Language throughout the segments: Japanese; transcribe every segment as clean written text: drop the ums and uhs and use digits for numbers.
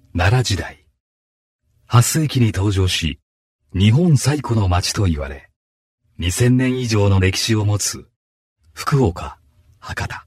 奈良時代、8世紀に登場し、日本最古の町と言われ、2000年以上の歴史を持つ福岡、博多。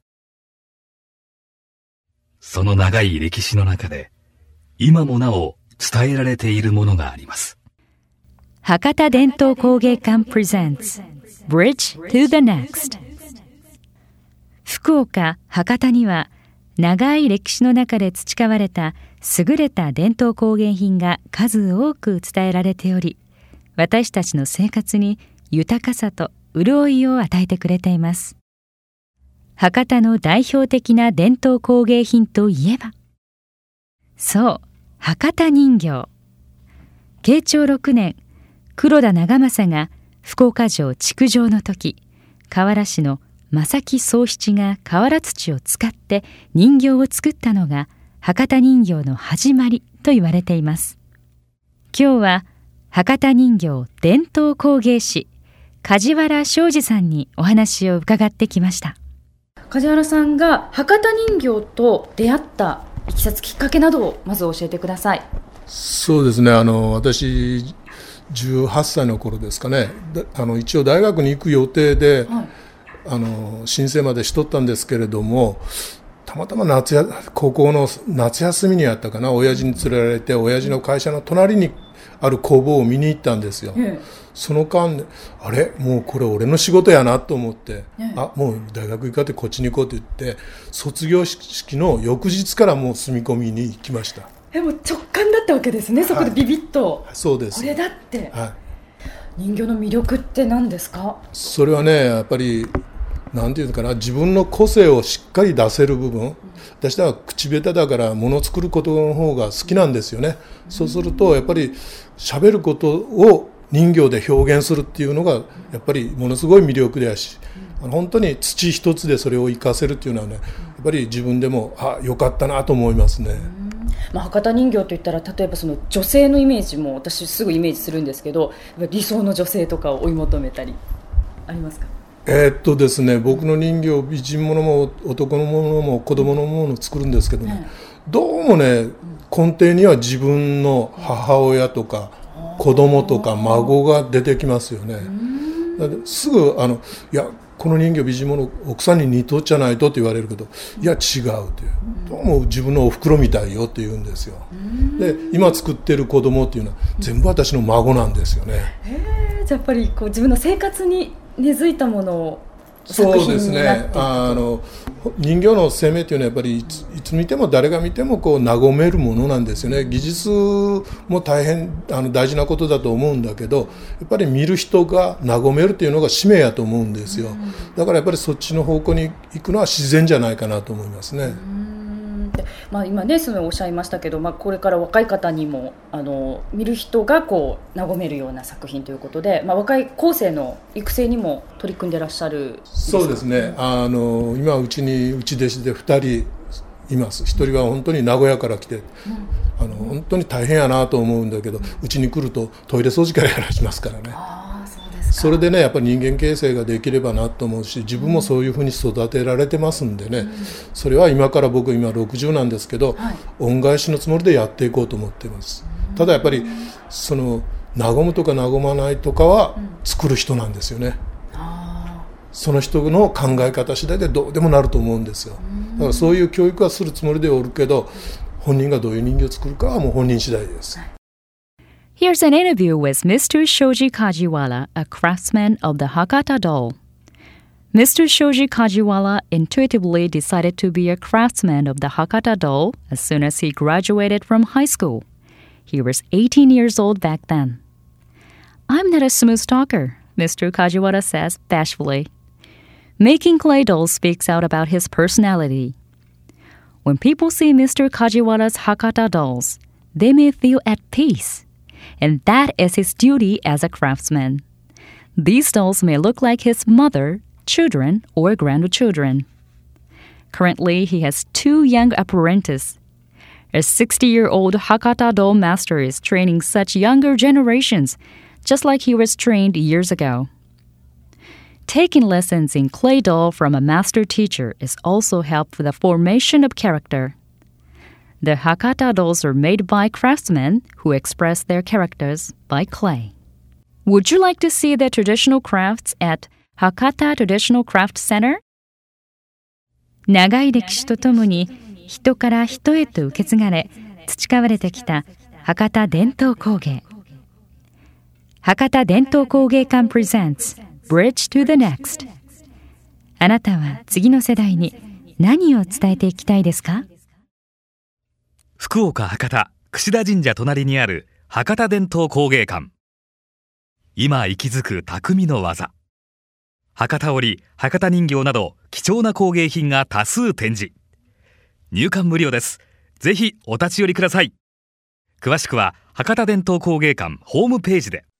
その長い歴史の中で、今もなお伝えられているものがあります。 博多伝統工芸館 presents Bridge to the Next。 福岡・博多には長い歴史の中で培われた優れた伝統工芸品が数多く伝えられており、私たちの生活に豊かさと潤いを与えてくれています。博多の代表的な伝統工芸品といえば、そう、博多人形。慶長6年、黒田長政が福岡城築城の時、河原市の正木宗七が瓦土を使って人形を作ったのが博多人形の始まりと言われています。今日は博多人形伝統工芸士梶原昌司さんにお話を伺ってきました。 梶原さんが博多人形と出会ったいきさつきっかけなどをまず教えてください。 そうですね、私18歳の頃ですかね、一応大学に行く予定で、申請までしとったんですけれども、たまたま高校の夏休みにやったかな、親父に連れられて親父の会社の隣にある工房を見に行ったんですよ。その間あれもうこれ俺の仕事やなと思って、もう大学行かってこっちに行こうと言って卒業式の翌日からもう住み込みに行きました。 もう直感だったわけですね、そこでビビッと、 そうです、 これだって、人形の魅力って何ですか？ それはね、やっぱりなんていうのかな、自分の個性をしっかり出せる部分、私は口下手だから物を作ることの方が好きなんですよね。そうするとやっぱり喋ることを人形で表現するっていうのがやっぱりものすごい魅力でやし、本当に土一つでそれを活かせるっていうのはね、やっぱり自分でも良かったなと思いますね。 博多人形といったら、例えばその女性のイメージも私すぐイメージするんですけど、理想の女性とかを追い求めたりありますか？ ですね、僕の人形、美人ものも男のものも子供のものを作るんですけどね、どうもね、根底には自分の母親とか子供とか孫が出てきますよね。すぐいやこの人形美人もの奥さんに似とっちゃないとって言われるけど、いや違うっていう、どうも自分のお袋みたいよって言うんですよ。で今作ってる子供っていうのは全部私の孫なんですよね。 じゃあやっぱりこう自分の生活に根付いたものをそうですね、人形の生命っていうのはやっぱりいつ見ても誰が見てもこう和めるものなんですよね。技術も大変大事なことだと思うんだけど、やっぱり見る人が和めるっていうのが使命やと思うんですよ。だからやっぱりそっちの方向に行くのは自然じゃないかなと思いますね。 今ね、そのおっしゃいましたけど、これから若い方にも見る人がこう和めるような作品ということで、若い後世の育成にも取り組んでらっしゃる。 そうですね、今うちに内弟子で2人います。1人は本当に名古屋から来て、本当に大変やなと思うんだけど、うちに来るとトイレ掃除からやらしますからね。それでね、やっぱり人間形成ができればなと思うし、自分もそういうふうに育てられてますんでね、それは今60なんですけど、恩返しのつもりでやっていこうと思っています。ただやっぱりその和むとか和まないとかは作る人なんですよね。その人の考え方次第でどうでもなると思うんですよ。だからそういう教育はするつもりでおるけど、本人がどういう人形を作るかはもう本人次第です。 Here's an interview with Mr. Shoji Kajiwara, a craftsman of the Hakata doll. Mr. Shoji Kajiwara intuitively decided to be a craftsman of the Hakata doll as soon as he graduated from high school. He was 18 years old back then. I'm not a smooth talker, Mr. Kajiwara says bashfully. Making clay dolls speaks out about his personality. When people see Mr. Kajiwara's Hakata dolls, they may feel at peace. And that is his duty as a craftsman. These dolls may look like his mother, children, or grandchildren. Currently, he has 2 young apprentices. A 60-year-old Hakata doll master is training such younger generations, just like he was trained years ago. Taking lessons in clay doll from a master teacher is also helpful for the formation of character. The Hakata dolls are made by craftsmen who express their characters by clay. Would you like to see the traditional crafts at Hakata Traditional Craft Center? 長い歴史とともに人から人へと受け継がれ培われてきた博多伝統工芸。博多伝統工芸館 presents Bridge to the Next。 あなたは次の世代に何を伝えていきたいですか？ 福岡博多櫛田神社隣にある博多伝統工芸館。今息づく匠の技。博多織、博多人形など貴重な工芸品が多数展示。入館無料です。ぜひお立ち寄りください。詳しくは博多伝統工芸館ホームページで。